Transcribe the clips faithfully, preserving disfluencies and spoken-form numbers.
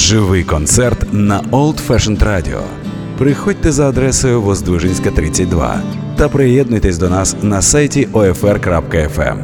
Живий концерт на Old Fashioned Radio. Приходьте за адресою Воздвиженська, тридцять два та приєднуйтесь до нас на сайті о еф ар крапка еф ем.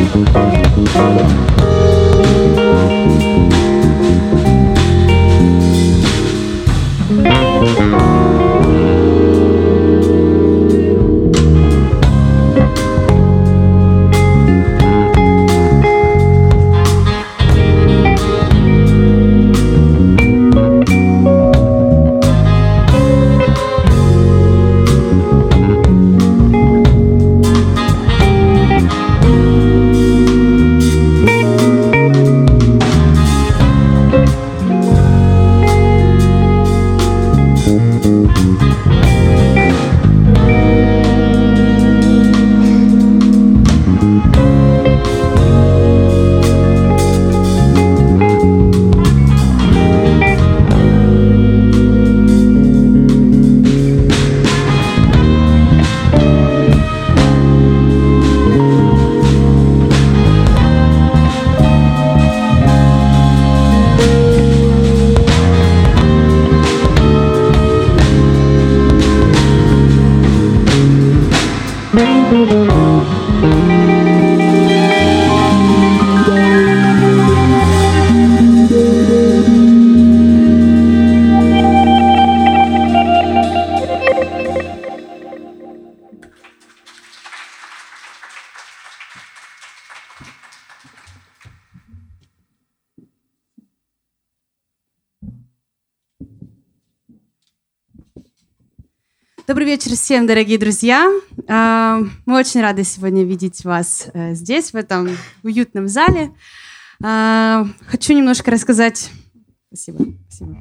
Добрый вечер всем, дорогие друзья. Мы очень рады сегодня видеть вас здесь, в этом уютном зале. Хочу немножко рассказать... Спасибо, спасибо.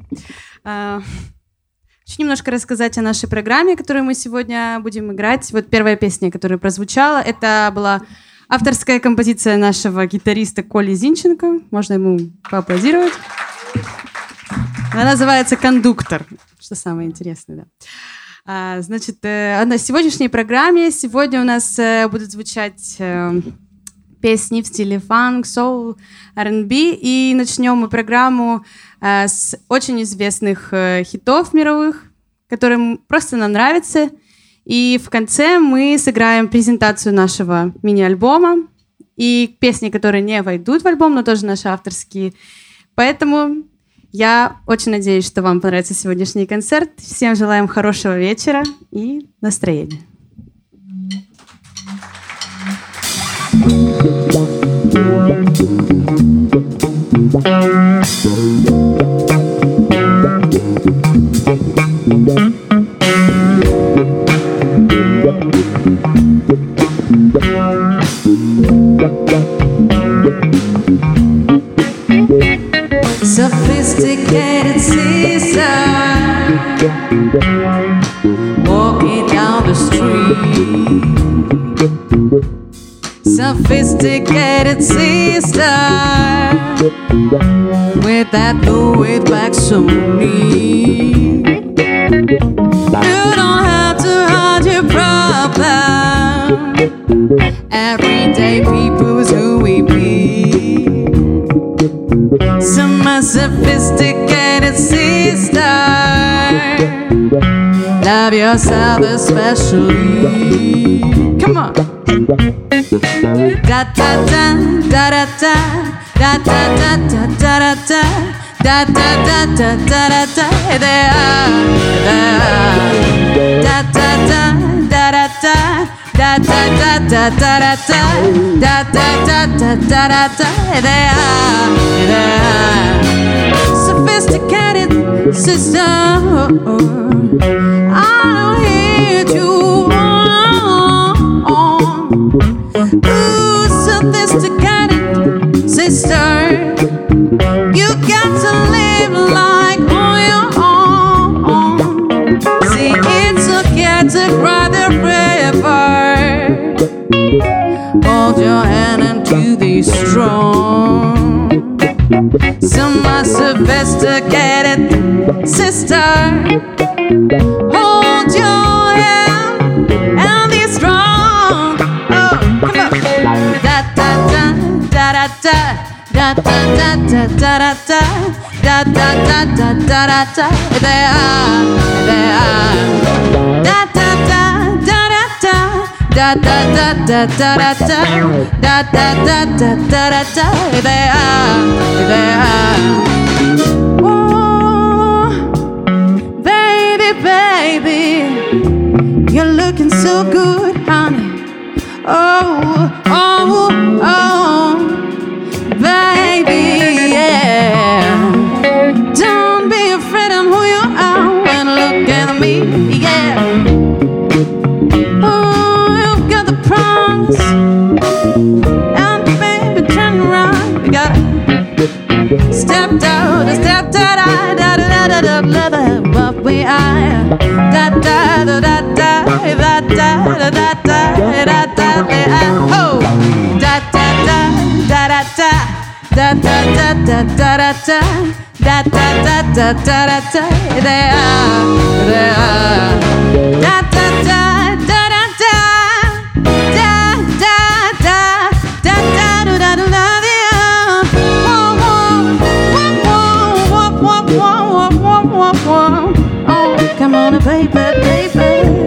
Хочу немножко рассказать о нашей программе, которую мы сегодня будем играть. Вот первая песня, которая прозвучала, это была авторская композиция нашего гитариста Коли Зинченко. Можно ему поаплодировать. Она называется «Кондуктор», что самое интересное, да. А, значит, э, на сегодняшней программе сегодня у нас э, будут звучать э, песни в стиле фанк, соул, ар энд би, и начнем мы программу э, с очень известных э, хитов мировых, которые просто нам нравятся, и в конце мы сыграем презентацию нашего мини-альбома и песни, которые не войдут в альбом, но тоже наши авторские, поэтому... Я очень надеюсь, что вам понравится сегодняшний концерт. Всем желаем хорошего вечера и настроения. Sophisticated sister walking down the street. Sophisticated sister with that Louis black so neat. You don't have to hide your problem. Everyday people's who we be. Some are sophisticated sister. Love yourself especially. Come on. Da da da da da da da da da da da da da da da da da da da. They are, they are. Da da da da da da. Da da da da da da da da da da da da da. They are, they are sophisticated sister. I don't hear you on. Ooh, sophisticated sister. You got to live like on your own. See, it's okay to cry the river. Hold your hand into the strong. Some are sophisticated sister. Hold your hand and be strong. Oh, come on. Da da da da da da da da da da da da da da da da da da. They are, they are. Da da da da da da. da da da da da da da da da da da da da da. They are, they are. Oh, baby, baby, you're looking so good, honey. Oh, oh, oh, baby, yeah. Don't be afraid of who you are when look at me, yeah. Oh, you've got the promise, and baby, turn around. We gotta step down, step down, da da da da da da da. What we are, da da da da da da da da da da da da. Oh, da da da da da da da da da da da da da da da da da da da. They are, they are. Da da da da da da da da da da da da da da. Oh, come on, baby, baby.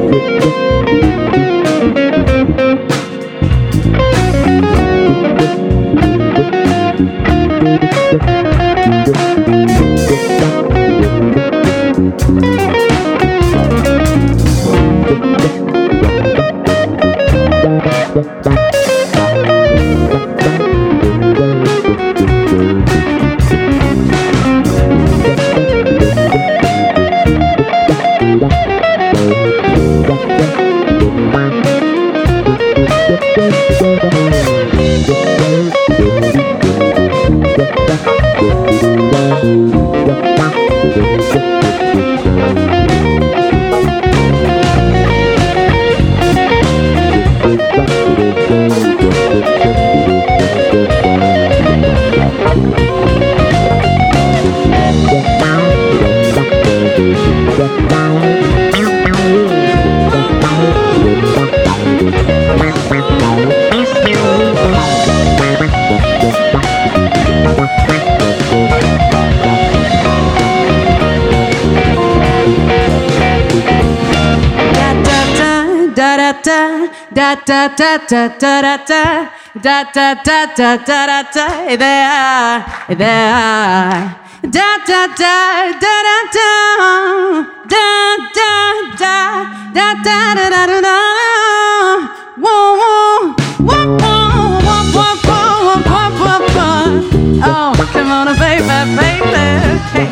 Da da da da da da da da da da da da da da. They are, they are. Da da da da da da da da da da da da da da. Whoa whoa whoa whoa whoa whoa whoa whoa whoa. Oh, come on, baby, baby. Hey.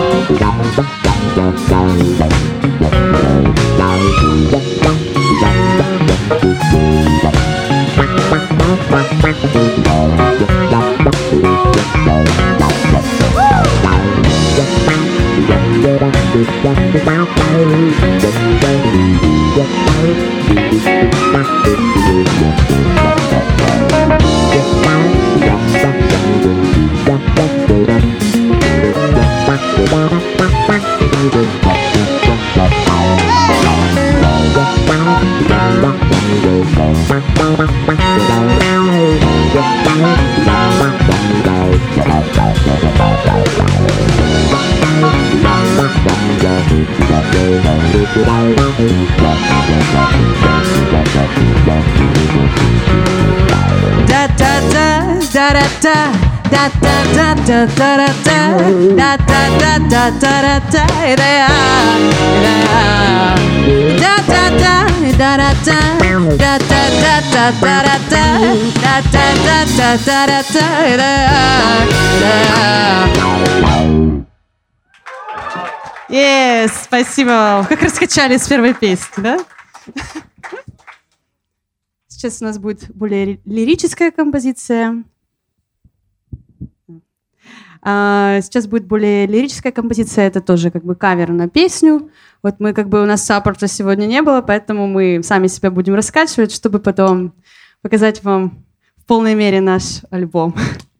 Da da da da da da da da da da da da da da da da da da da. They are, they are. Da da da da da da da da da da da da da da da da da da da. They are, they are. Yes, спасибо вам. Как раскачали с первой песни, да? Сейчас у нас будет более лирическая композиция. Сейчас будет более лирическая композиция. Это тоже как бы кавер на песню. Вот мы как бы у нас саппорта сегодня не было, поэтому мы сами себя будем раскачивать, чтобы потом показать вам в полной мере наш альбом.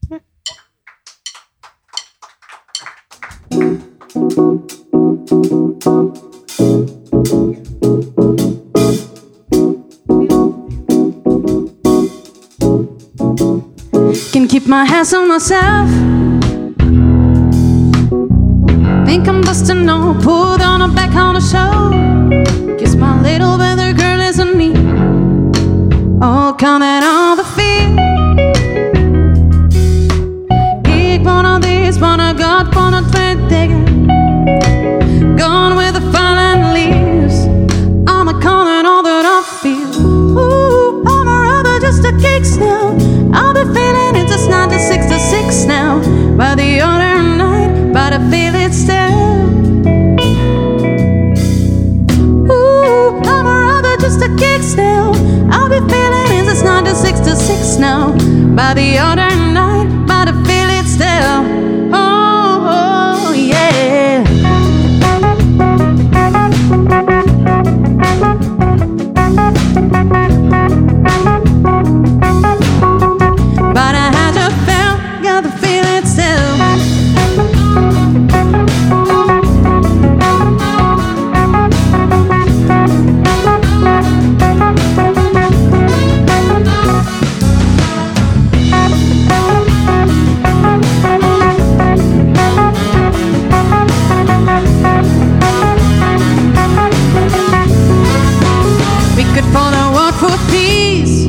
Can keep my hands on myself. Think I'm busting no, put on a back on a show. Guess my little better girl isn't me. all counting all the fear. Gig one of these, one I got, one of twenty digger. Gone with the fallen leaves. I'm a calling all that I feel. Ooh, I'm a rubber, just a kick now. I'll be feeling it just nine to six to six now. By the other night, but I feel it still. Ooh, I'm a rubber, just a kick now. I'll be feeling it just nine to six to six now. By the other night, but I feel it still. Oh, oh yeah. But I had to feel, got the feeling still. We could follow what for peace.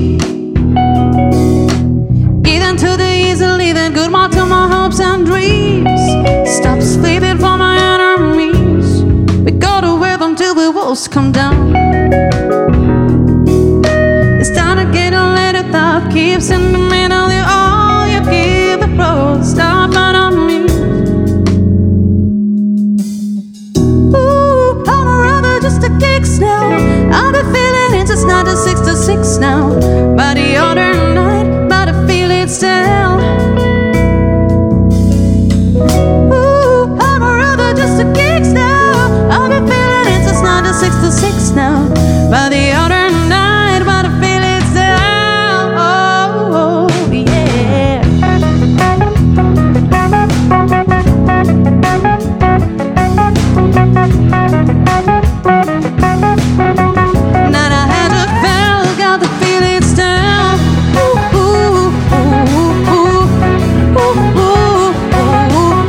Getting to the easy, leaving goodbye to my hopes and dreams. Stop sleeping for my enemies. We go to with them till the walls come down. It's time to get a little thought keeps in the middle. You all you give the road. Stop but on me. Ooh, I'm a rubber, just a kick now. I'll be feeling it just nine to six to six now. By the other night, but I feel it still. Ooh, I'm a rubber, just a kick now. I'll be feeling it just nine to six to six now. By the other night, but I feel it still. Oh, oh yeah. Now I had to feel, got the feeling still. Ooh, ooh, ooh, ooh, ooh, ooh, ooh,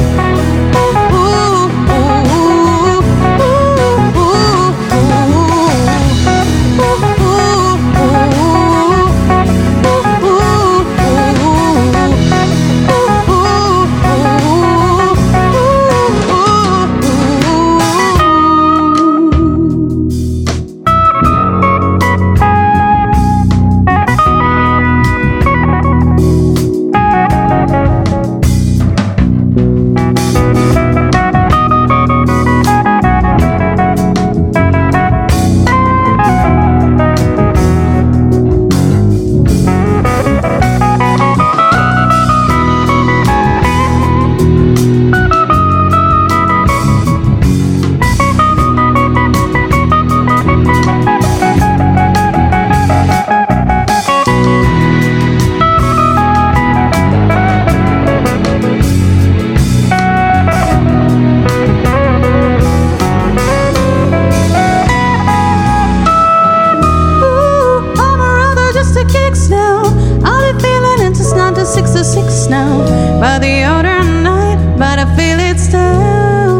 six to six now. By the other night, but I feel it still.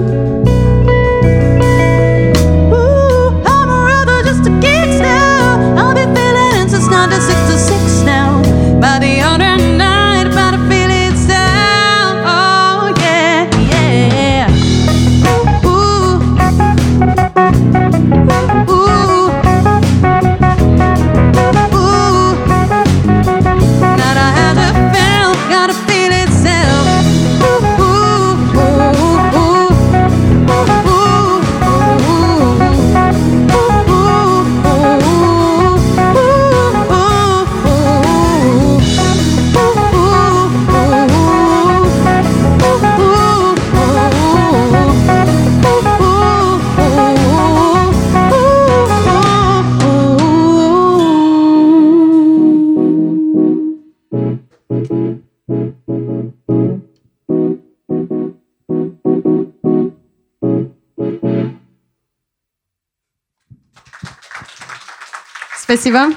Ooh, I'm a rubber, just a kid still. I'll be feeling it since nine to six to six now. By the other night, but I feel it still. Oh yeah, yeah. Ooh, ooh, ooh. Not I had to feel, gotta feel it still. Ooh, ooh, ooh, ooh, ooh, ooh, Спасибо.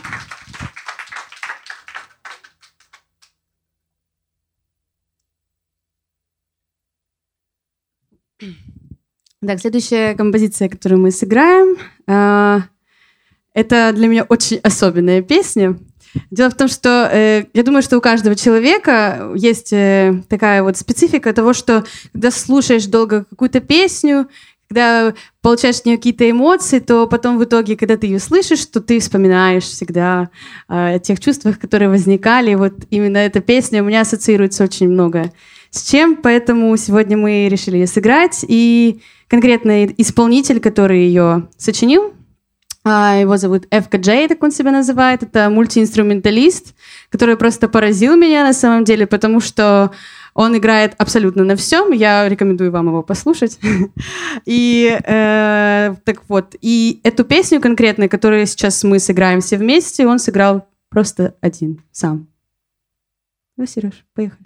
Так, следующая композиция, которую мы сыграем, это для меня очень особенная песня. Дело в том, что э, я думаю, что у каждого человека есть э, такая вот специфика того, что когда слушаешь долго какую-то песню, когда получаешь от нее какие-то эмоции, то потом в итоге, когда ты ее слышишь, то ты вспоминаешь всегда э, о тех чувствах, которые возникали. И вот именно эта песня у меня ассоциируется очень много с чем, поэтому сегодня мы решили ее сыграть. И конкретно исполнитель, который ее сочинил, его зовут эф ка джей, так он себя называет. Это мультиинструменталист, который просто поразил меня на самом деле, потому что он играет абсолютно на всем. Я рекомендую вам его послушать. И э, так вот, и эту песню конкретно, которую сейчас мы сыграем все вместе, он сыграл просто один сам. Ну, Сереж, поехали.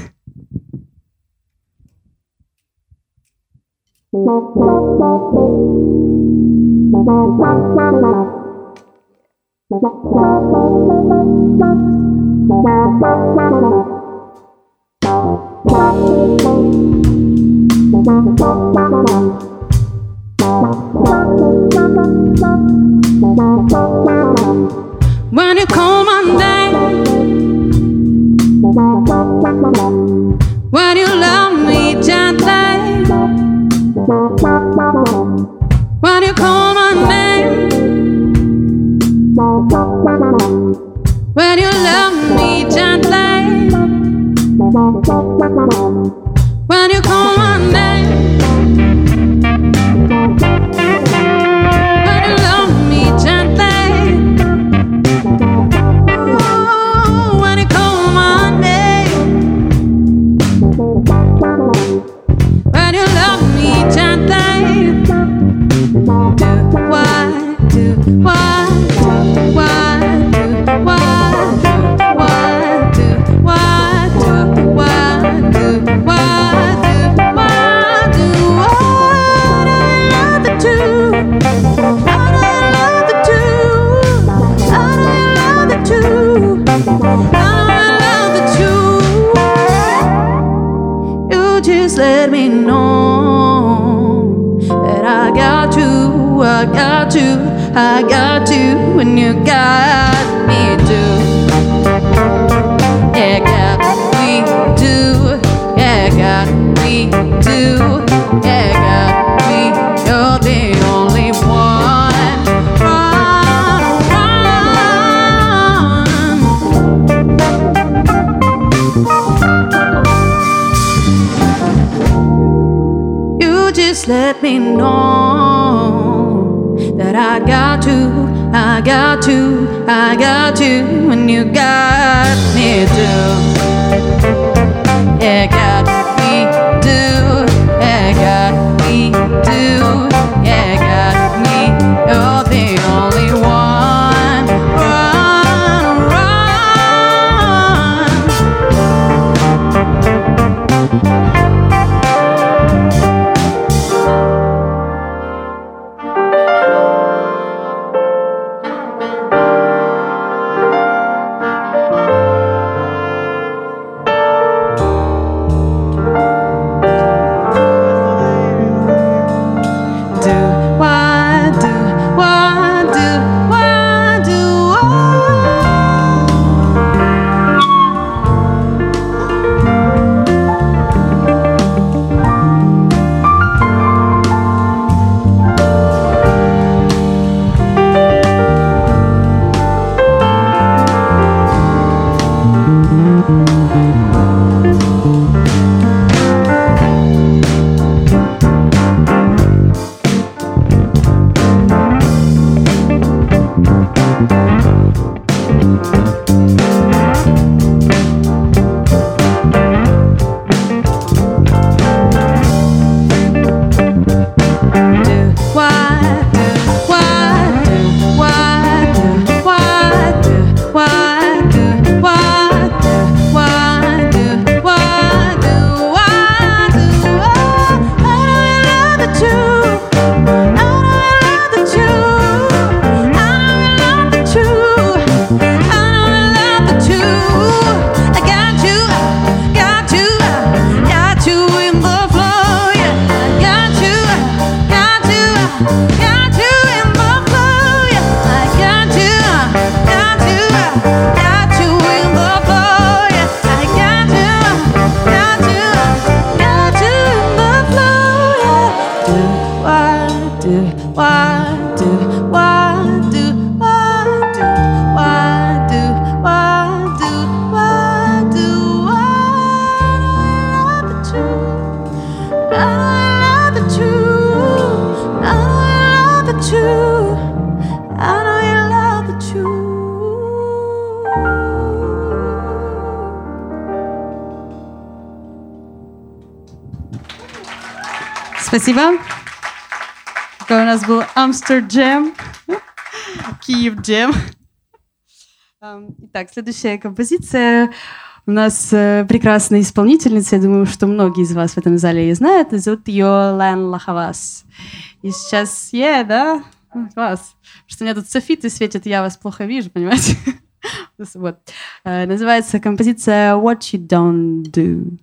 When you call my name, when you love me gently, when you call my name, when you love me gently, when you call my name, when you love me gently, oh, when you call my name, when you love me gently, do why, do why, do why, do why, do why, do why, do why, do why, do why, do why, I love the two, I love the two, I love the two, I love the two. You just let me know that I got you, I got you, I got you, and you got me too. Yeah, got me too. Yeah, got me too. Yeah, got me. You're the only one. Run, run. You just let me know that I got you, I got you, I got you, and you got me too. Yeah, got me too. Yeah, got me too. Yeah, got me. You're the only one. Run, run. Спасибо. Такой у нас был Амстерджем, Киев-джем. Итак, следующая композиция. У нас э, прекрасная исполнительница, я думаю, что многие из вас в этом зале ее знают. Зовут ее Лэн Лахавас. И сейчас, е, yeah, да? Класс. Что у меня тут софиты светят, я вас плохо вижу, понимаете? Вот. Э, называется композиция «What You Don't Do».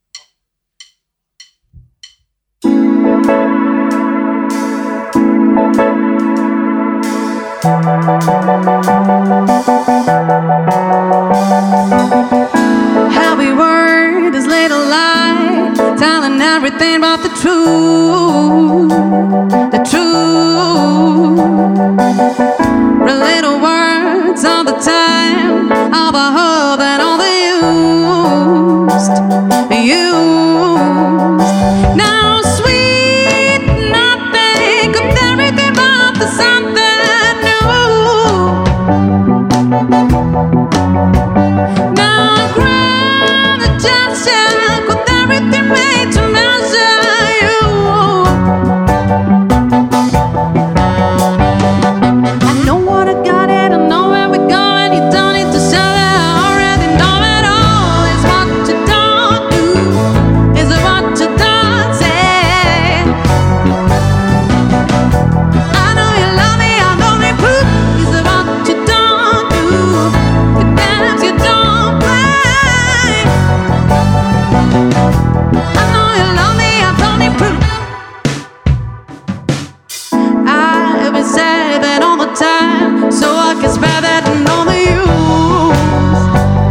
Every word is little lie, telling everything but the truth, the truth. The little words all the time, all the whole and all the used, used. Now sweet nothing of everything but the something new. Now grab the gesture with everything made to measure you. I know what I got it, I know where we're going. You don't need to show it, I already know it all. It's what you don't do, is it what you don't say. I know you love me, I know me proof. Is it what you don't do, the games you don't play. I know you love me, I don't need proof. I've been saving all the time so I can spare that and all the use,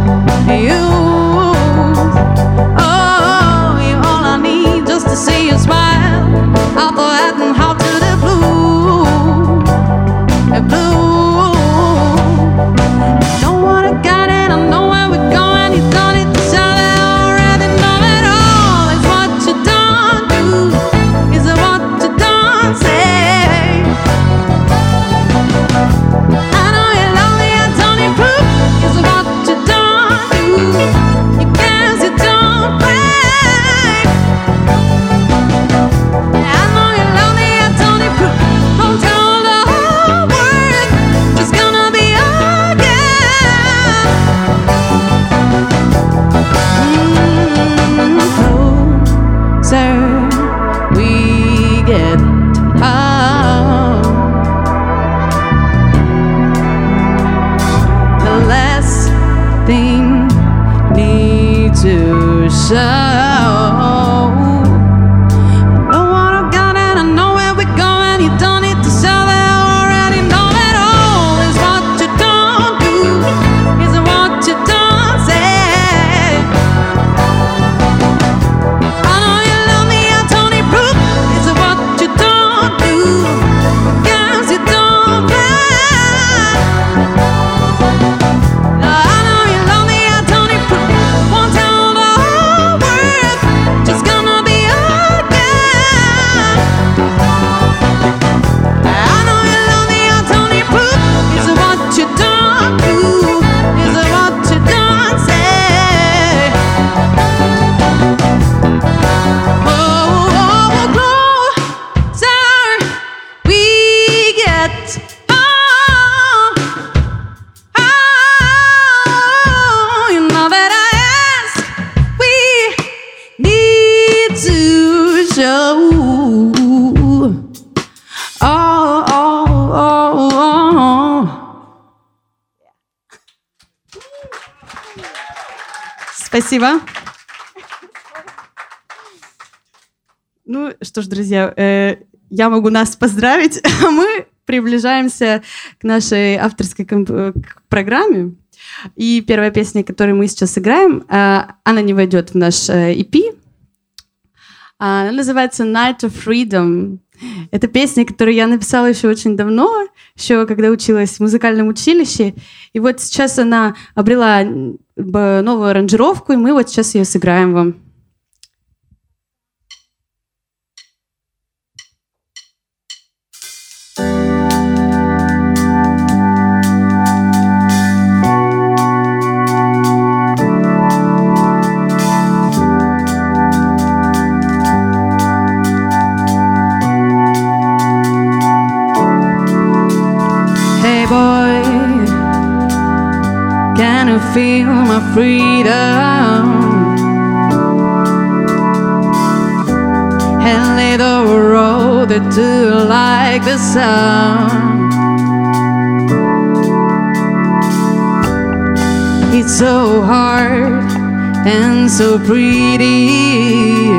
use. Oh, you're all I need just to see you smile. I'll go ahead and how to the blue, the blue. Know what I got it, I know where we're going. You don't need to show it, I already know it all. It's what you don't do, is it what you don't say. I know you're lonely, I don't need proof. Is it what you don't do, you games you don't play. I know you're lonely, I don't need proof. Don't tell the whole world, it's gonna be again. Mm, closer we get, oh, the last thing need to show. I know what I got and I know where we're going. You don't need to sell it, I already know it all. Is what you don't do, is it what you don't say. I know you love me, I don't need proof. Is it what you don't do, games you don't play. I know you love me, I don't need proof. Won't tell the whole world, just gonna be again. I know you love me, I don't need proof. Is it what you don't do, is it what you don't say. Oh, oh, closer we get, oh, oh, you know that I ask, we need to show. Oh, oh, oh, oh. Спасибо. Ну что ж, друзья, э, я могу нас поздравить, а мы приближаемся к нашей авторской комп- к программе. И первая песня, которую мы сейчас сыграем, э, она не войдет в наш э, и пи. Она называется «Night of Freedom». Это песня, которую я написала еще очень давно, еще когда училась в музыкальном училище. И вот сейчас она обрела новую аранжировку, и мы вот сейчас ее сыграем вам. feel my freedom and let the road that do like the sun. It's so hard and so pretty.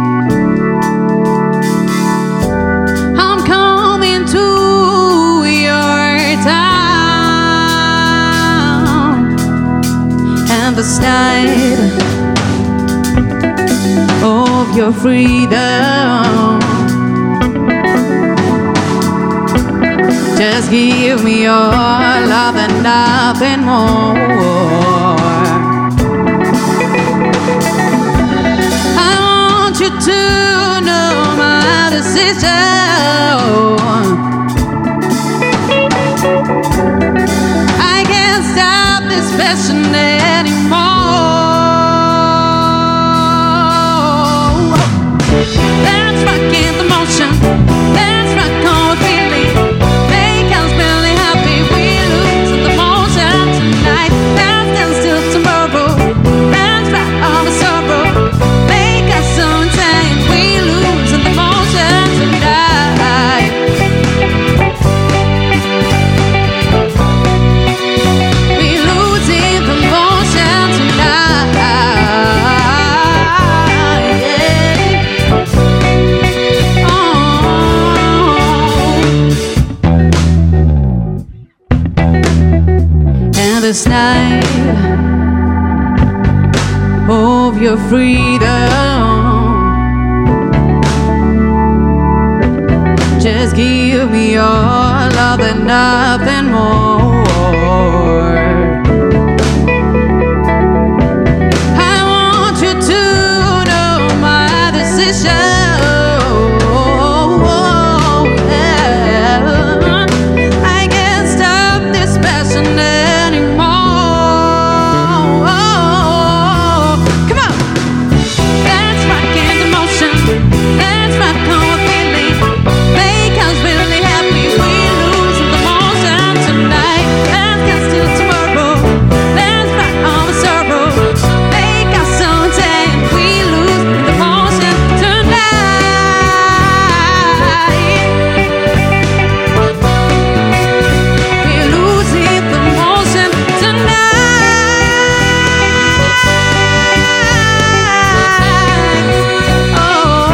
I'm coming to your town, and the night of your freedom. Just give me your love and nothing more. I want you to know my decision. I can't stop this passion anymore. Let's rock in the motion. Let's rock on with feeling. Make us really happy. We lose in the motion tonight. Let's dance till tomorrow. Let's rock on with sorrow. Make us so insane. We lose in the motion tonight. We lose in the motion tonight. And this night of your freedom, just give me your love and nothing more. I want you to know my decision. I can't stop this passion anymore. Come on, let's rock in the motion. Let's rock on with feeling. Make us really happy. We lose in the motion tonight. Let's dance till tomorrow. Let's rock on with sorrow. Make us so insane. We lose in the motion tonight. We lose in the motion tonight. Oh,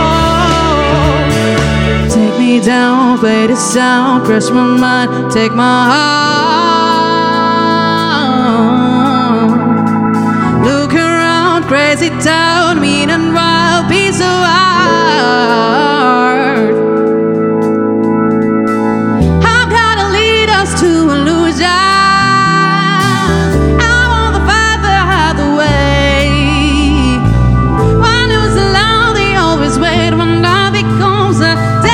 take me down, play the sound, crush my mind, take my heart. Look around, crazy town, mean and wild, piece of art. I'm gonna lead us to illusion. I wanna find the other way. One who's alone, they always wait when love becomes a day.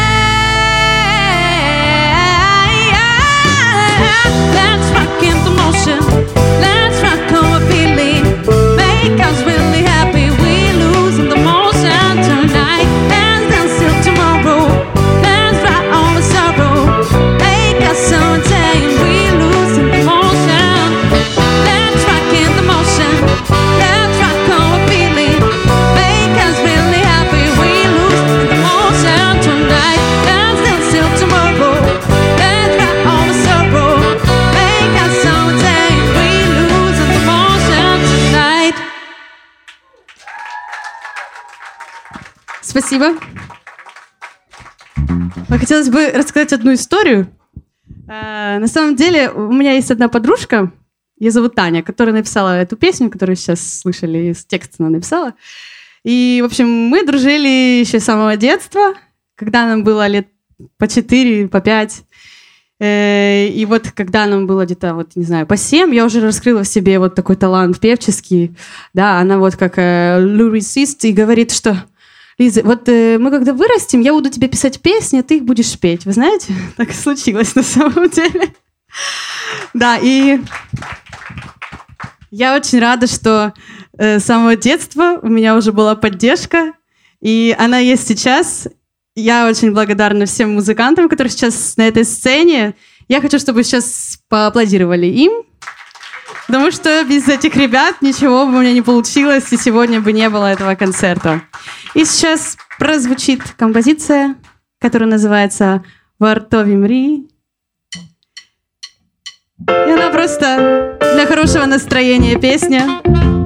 Let's rock in the motion. Let's rock on a feeling. Make us really happy. We lose in the motion tonight. Let's dance till tomorrow. Let's rock on with sorrow. Make us so insane. We lose in the motion. Let's rock in the motion. Let's rock on a feeling. Make us really happy. We lose in the motion tonight. Let's dance till tomorrow. Let's rock on with sorrow. Make us so insane. We lose in the motion tonight. Спасибо. Хотелось бы рассказать одну историю. Э, На самом деле, у меня есть одна подружка, ее зовут Таня, которая написала эту песню, которую сейчас слышали, с текста она написала. И, в общем, мы дружили еще с самого детства, когда нам было лет по четыре, по пять. Э, И вот когда нам было где-то, вот, не знаю, по семь, я уже раскрыла в себе вот такой талант певческий. Да, она вот как э, лирисист и говорит, что Лиза, вот э, мы когда вырастем, я буду тебе писать песни, а ты их будешь петь. Вы знаете, так и случилось на самом деле. Да, и я очень рада, что э, с самого детства у меня уже была поддержка, и она есть сейчас. Я очень благодарна всем музыкантам, которые сейчас на этой сцене. Я хочу, чтобы сейчас поаплодировали им. Потому что без этих ребят ничего бы у меня не получилось, и сегодня бы не было этого концерта. И сейчас прозвучит композиция, которая называется «Вартові мрії». И она просто для хорошего настроения песня.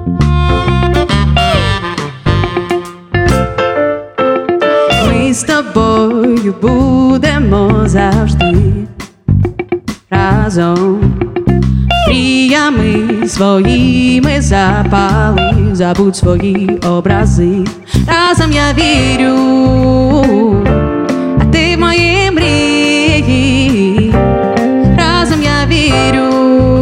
Ми з тобою будемо завжди разом. Мріями своїми запали, забудь свої образи. Разом я вірю, а ти в мої мрії. Разом я вірю,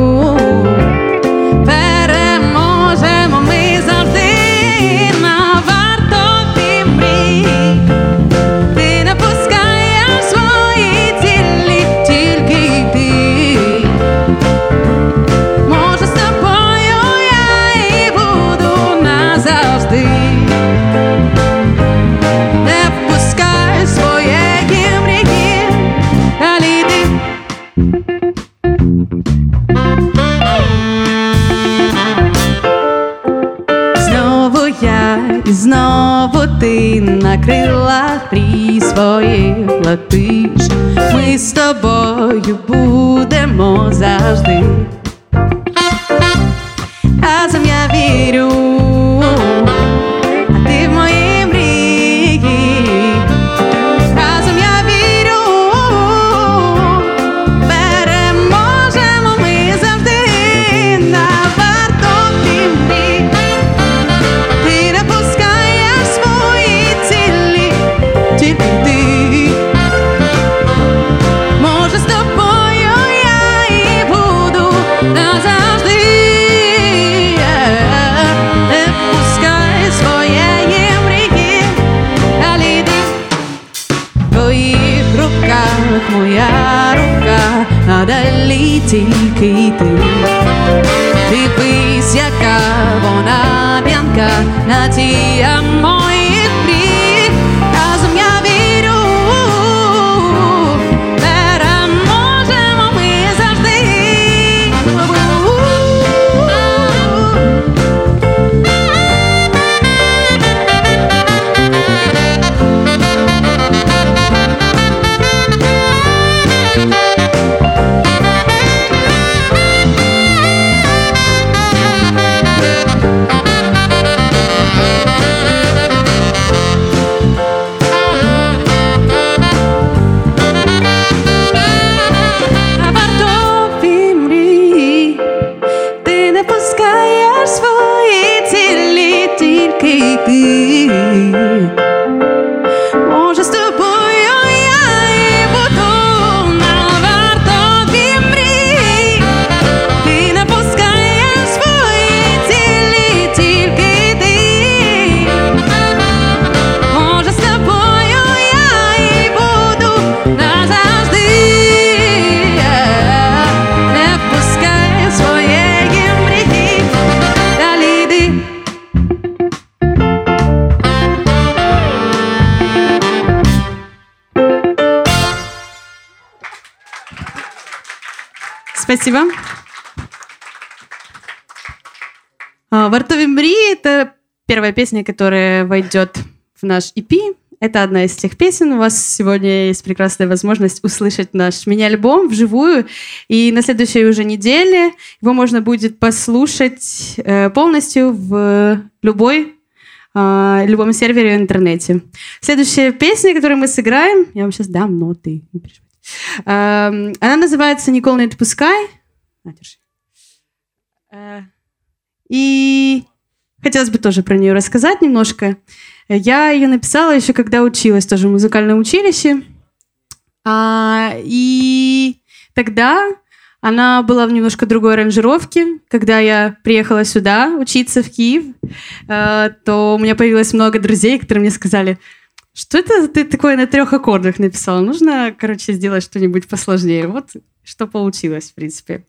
переможемо ми завжди на вартові мрії. Ти не пускаєш свої цілі, тільки ти. Може, з тобою я і буду назавжди. Не впускай своєї мрії, далі йди. Знову я і знову ти на крилах мрій своїх летиш. Ми з тобою будемо завжди. Разом я вірю, а ти в мої мрії. Разом я вірю, переможемо ми завжди на вартові мрії. Ти не пускаєш свої цілі, тільки ти. Може, з тобою я і буду назавжди. Не впускай своєї мрії, далі йди. В твоїх руках моя рука, а далі тільки ти. Дивись, яка вона п'янка на ті моїх мрій. Разом я вірю, переможемо ми завжди. На вартові мрії. Ти не пускаєш свої цілі, тільки ти. Може, з тобою я і буду на вартові мрії. Ти не пускаєш свої цілі, тільки ти. Може, з тобою я і буду назавжди. Не впускай своєї мрії, далі йди. Спасибо. А, «Вартові мрії» — это первая песня, которая войдет в наш и пи. Это одна из тех песен. У вас сегодня есть прекрасная возможность услышать наш мини-альбом вживую. И на следующей уже неделе его можно будет послушать э, полностью в любой, э, любом сервере в интернете. Следующая песня, которую мы сыграем, я вам сейчас дам ноты, не переживайте. Э, она называется «Ніколи не відпускай». На, держи. Э, и хотелось бы тоже про нее рассказать немножко. Я ее написала еще когда училась тоже в музыкальном училище. А, и тогда она была в немножко другой аранжировке. Когда я приехала сюда учиться в Киев, а, то у меня появилось много друзей, которые мне сказали: что это ты такое на трех аккордах написала? Нужно, короче, сделать что-нибудь посложнее. Вот что получилось, в принципе.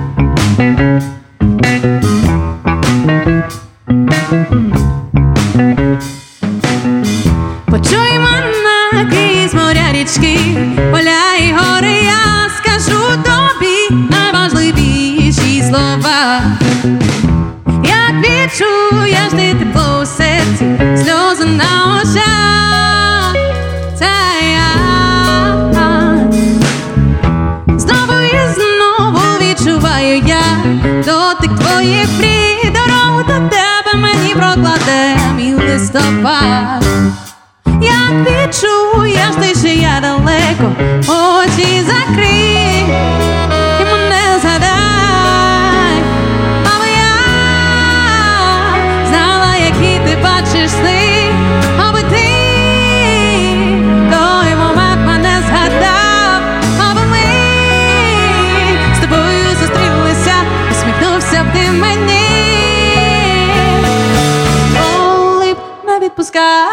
Thank you. Тумана крізь моря, річки, поля і гори, я скажу тобі найважливіші слова. Як відчуєш ти тепло у серці, сльози на очах, це я. Знову і знову відчуваю я дотик твоїх мрій, дорогу до тебе мені прокладе мій листопад. Як відчуєш ти, що я далеко, очі закрий і мене згадай, аби я знала, які ти бачиш сни, аби ти той момент мене згадав, аби ми з тобою зустрілися, усміхнувся б ти мені, коли б не відпускав.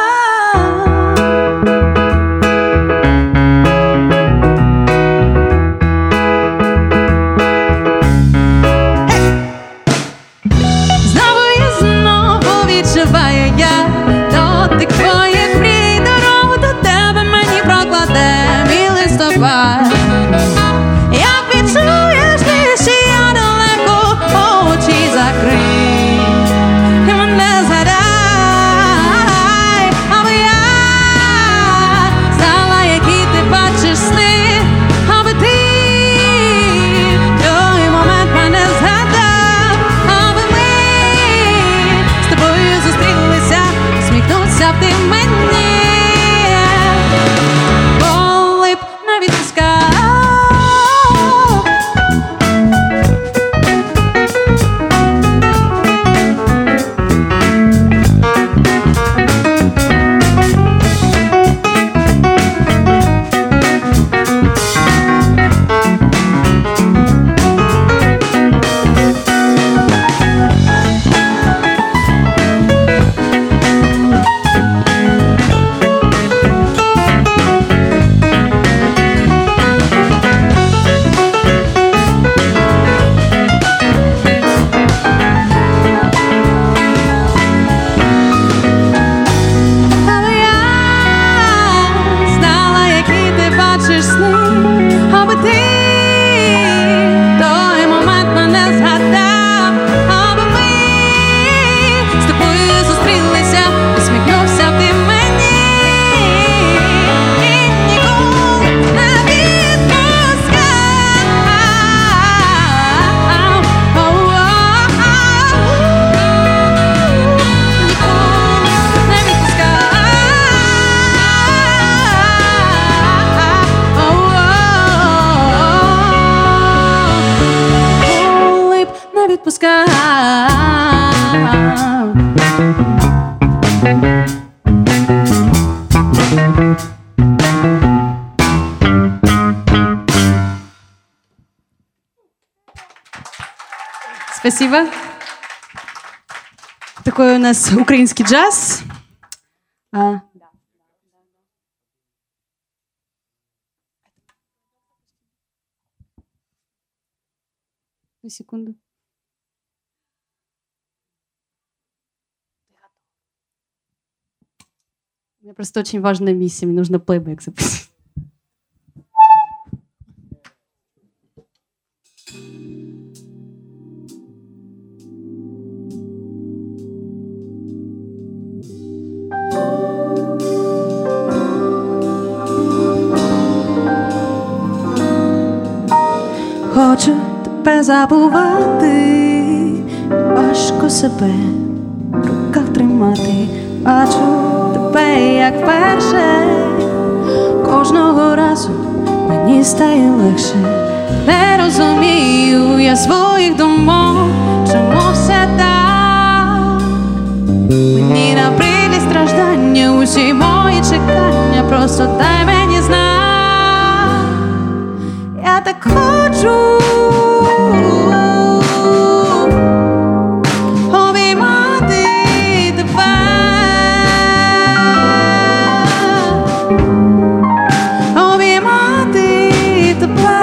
Як відчуєш ти, що я далеко, очі закрий і мене згадай, аби я знала, які ти бачиш сни, аби ти той момент мене згадав, аби ми з тобою зустрілися, сміхнувся б ти мені. Спасибо. Такой у нас украинский джаз. А. На секунду. У меня просто очень важная миссия. Мне нужно плейбэк запустить. Хочу тебе забувати, важко себе в руках тримати. Бачу тебе, як вперше, кожного разу мені стає легше. Не розумію я своїх думок, чому все так. Мені набридлі страждання, усі мої чекання, просто дай мені знак. Я так хочу обіймати тебе, обіймати тебе.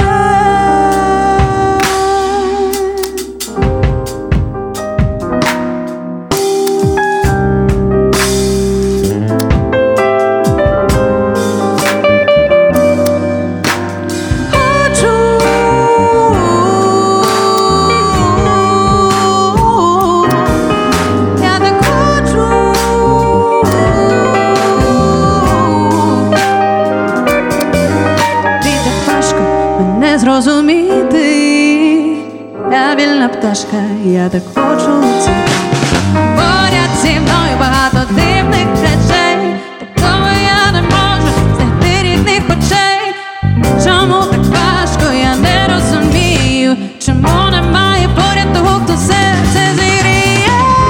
розуміти. Я вільна пташка, я так хочу летіти. Поряд зі мною багато дивних речей, такого я не можу знайти рідних очей. Чому так важко, я не розумію, чому немає поряд того, хто серце зігріє.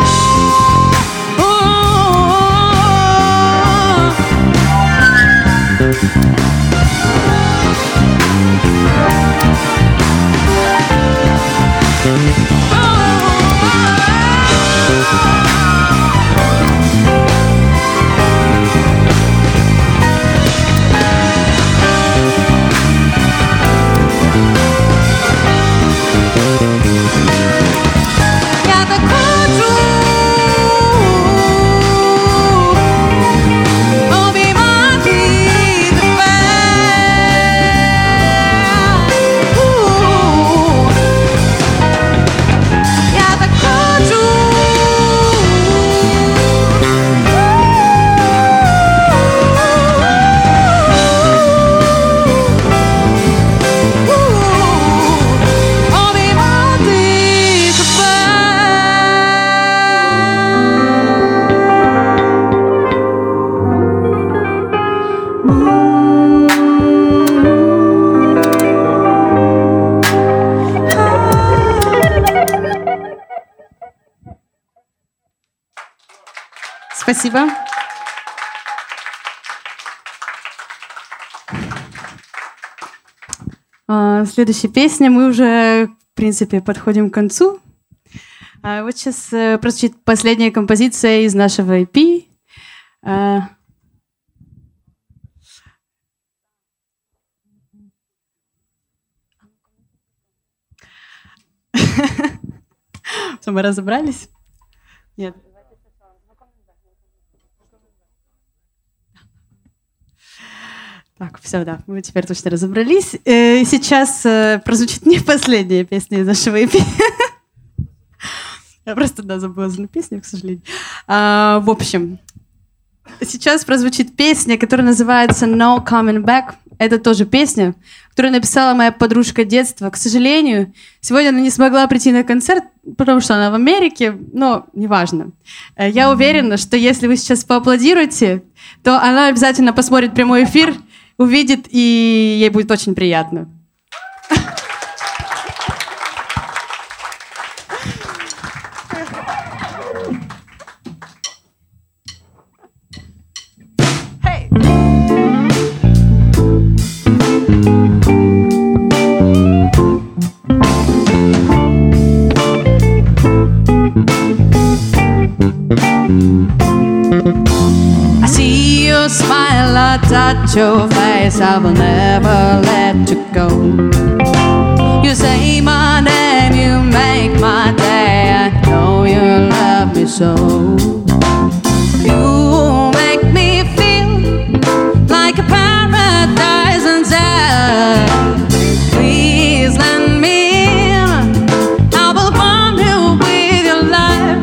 Спасибо. Следующая песня. Мы уже, в принципе, подходим к концу. Вот сейчас прозвучит последняя композиция из нашего и пи. Что, мы разобрались? Нет. Так, все, да, мы теперь точно разобрались. Сейчас прозвучит не последняя песня из нашего и пи. Я просто, да, забыла за песню, к сожалению. А, в общем, сейчас прозвучит песня, которая называется «No Coming Back». Это тоже песня, которую написала моя подружка детства. К сожалению, сегодня она не смогла прийти на концерт, потому что она в Америке, но неважно. Я уверена, что если вы сейчас поаплодируете, то она обязательно посмотрит прямой эфир, увидит, и ей будет очень приятно. I see your smile, I touch your face, I will never let you go. You say my name, you make my day, I know you love me so. You make me feel like a paradise inside. Please lend me in, I will warm you with your life.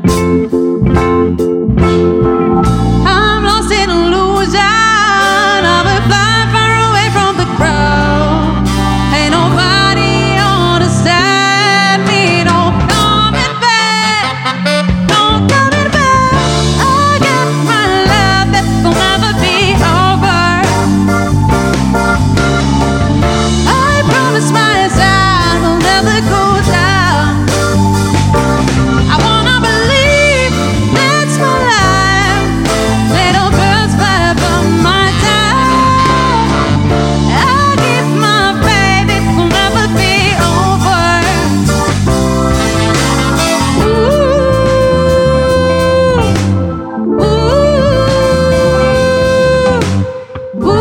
I'm lost in illusion, I will fly far away from the crowd. Ain't nobody understand me, no coming back, no coming back. I got my love that will never be over. I promise myself I'll never go down. I wanna believe that's my life. Little birds fly above my town. I'll give my baby, it will never be over. Ooh, ooh, ooh,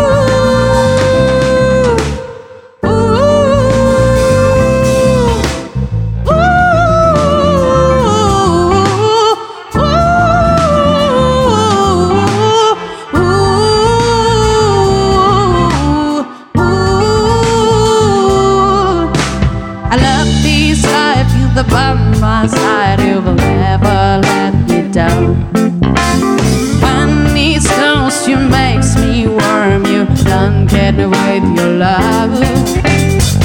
I love this life, feel the bump my side, you will never let me down. When it's close, you makes me warm, you don't get away with your love.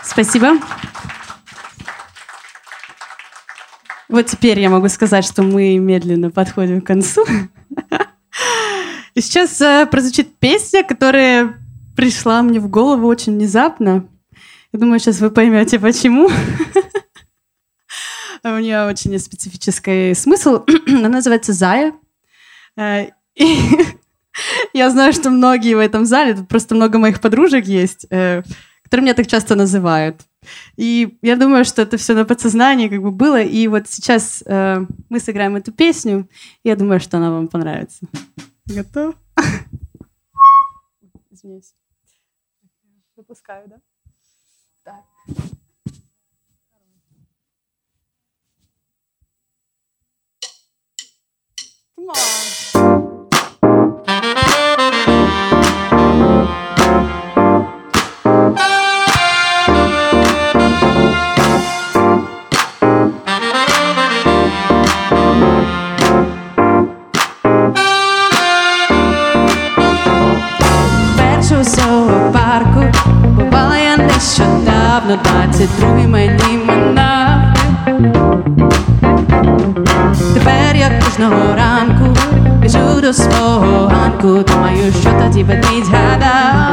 Спасибо. Вот теперь я могу сказать, что мы медленно подходим к концу. И сейчас э, прозвучит песня, которая пришла мне в голову очень внезапно. Я думаю, сейчас вы поймете, почему. У нее очень специфический смысл. Она называется «Зая». И я знаю, что многие в этом зале, тут просто много моих подружек есть, которые меня так часто называют. И я думаю, что это все на подсознании как бы было. И вот сейчас э, мы сыграем эту песню. И я думаю, что она вам понравится. Готов? Извиняюсь. Выпускаю, да? Так. Come on. Нещодавно двадцять другий мені минав. Тепер я кожного ранку біжу до свого ганку, думаю, що тоді ведмідь гадав.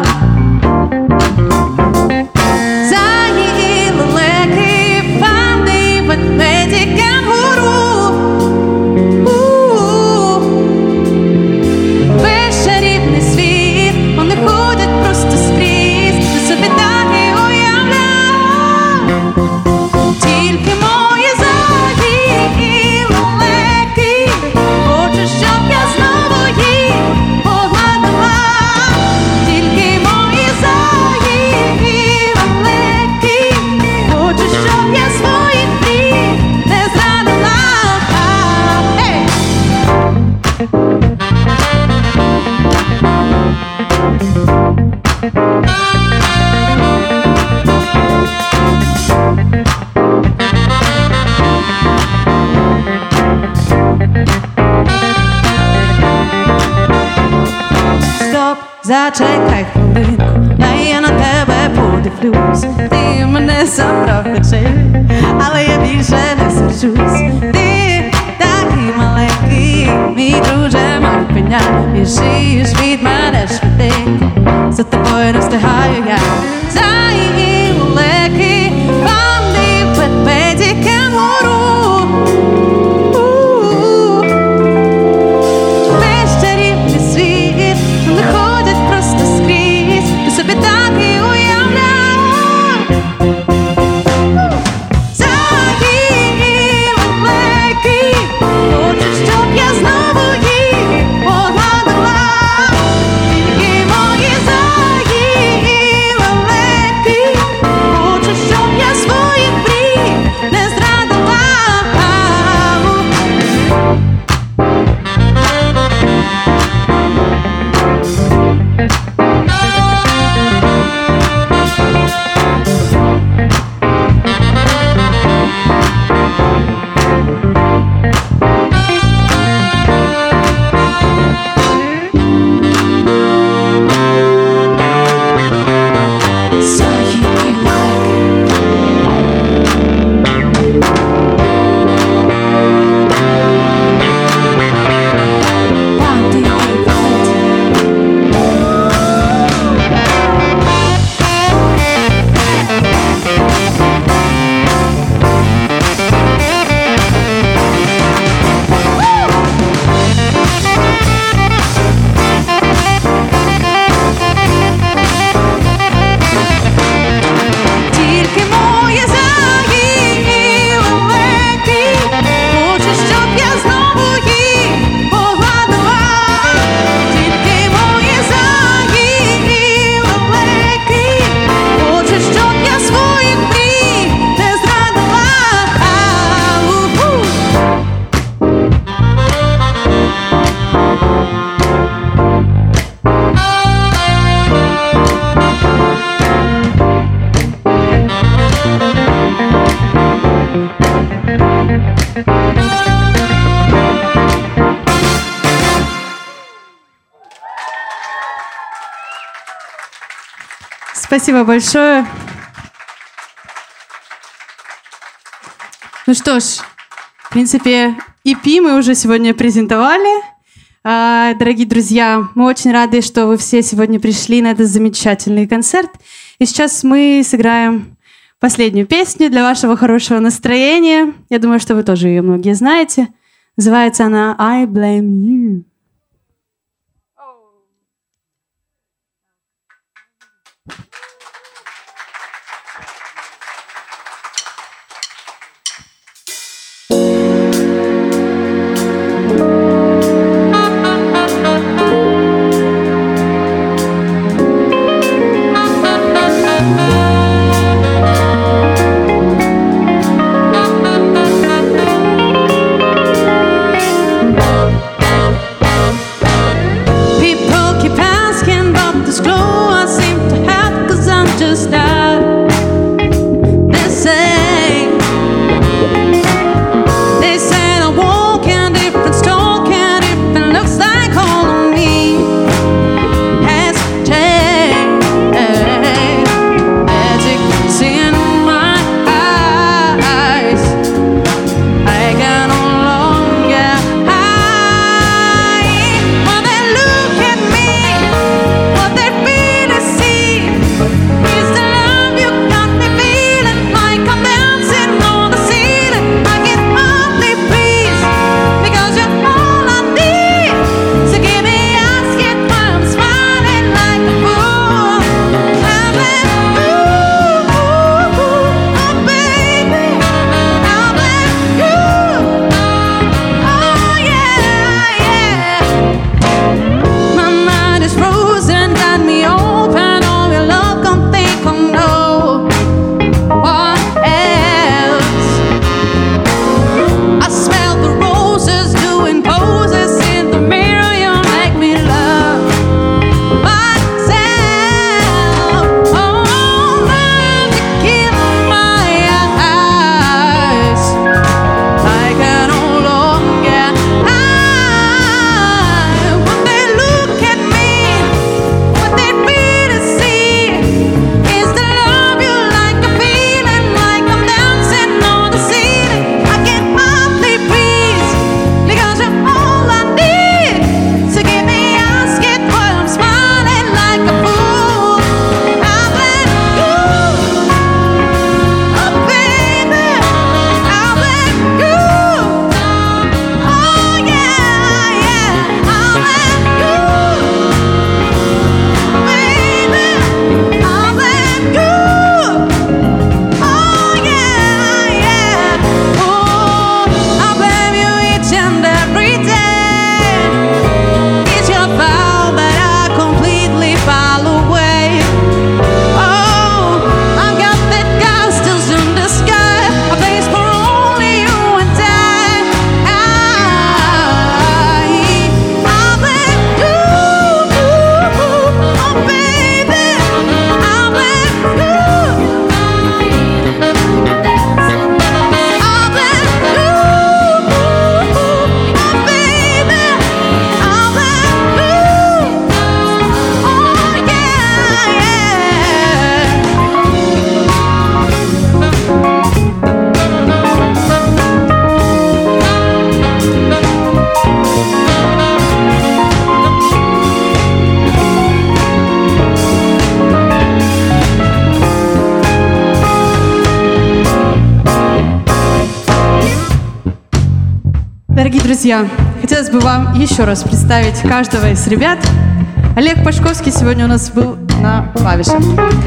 Заї і лелеки, панди, ведмеді, кенгуру. Весь чарівний світ, вони ходять просто скрізь, ти собі так і тільки мої заї і лелеки, хочу, щоб я знову їх погладила. Тільки мої заї і лелеки, хочу, щоб я своїх мрій не зрадила. Hey! Зачекай хвилинку, дай я на тебе подивлюсь. Ти мене забрав печаль, але я більше не сержусь. Ти такий маленький, мій друже мавпеня. Біжиш від мене швиденько, за тобою не встигаю я. Заї і лелеки, панди, ведмеді, кенгуру. Весь чарівний світ, вони ходять просто скрізь, ти собі так і уявляй. Заї і лелеки, хочу, щоб я знову їх погладила. Тільки мої заї і лелеки, хочу, щоб я своїх мрій не зрадила. Спасибо большое. Ну что ж, в принципе, и пи мы уже сегодня презентовали. А, дорогие друзья, мы очень рады, что вы все сегодня пришли на этот замечательный концерт. И сейчас мы сыграем последнюю песню для вашего хорошего настроения. Я думаю, что вы тоже ее многие знаете. Называется она «I Blame You». Дорогие друзья, хотелось бы вам еще раз представить каждого из ребят. Олег Пашковский сегодня у нас был на клавишах.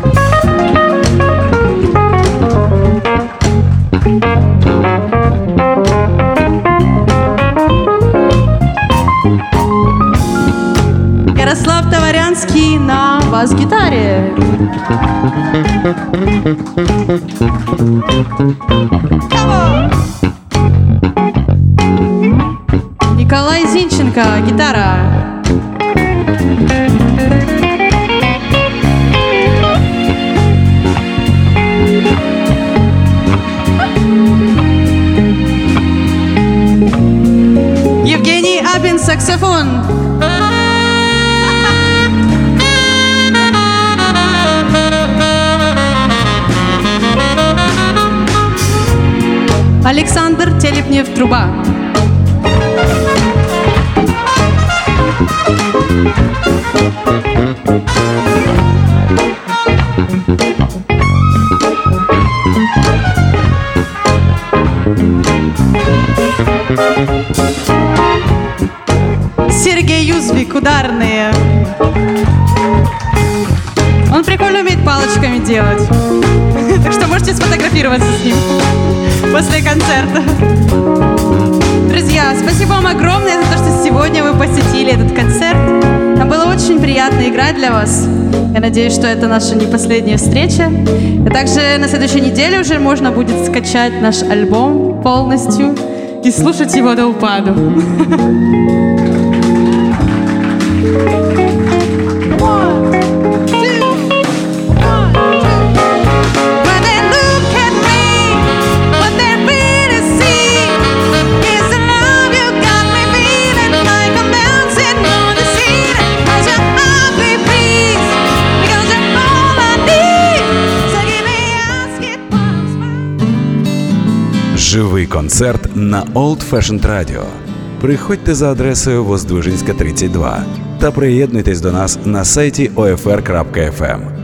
Ярослав Товарянский на бас-гитаре. Николай Зинченко, гитара. Евгений Абин, саксофон. Александр Телепнев-Труба. Сергей Юзвик, ударные. Он прикольно умеет палочками делать. Так что можете сфотографироваться с ним после концерта. Друзья, спасибо вам огромное за то, что сегодня вы посетили этот концерт. Нам было очень приятно играть для вас. Я надеюсь, что это наша не последняя встреча. И также на следующей неделе уже можно будет скачать наш альбом полностью и слушать его до упаду. Живий концерт на Old Fashioned Radio. Приходьте за адресою Воздвиженська, тридцять два та приєднуйтесь до нас на сайті о еф ер крапка еф ем.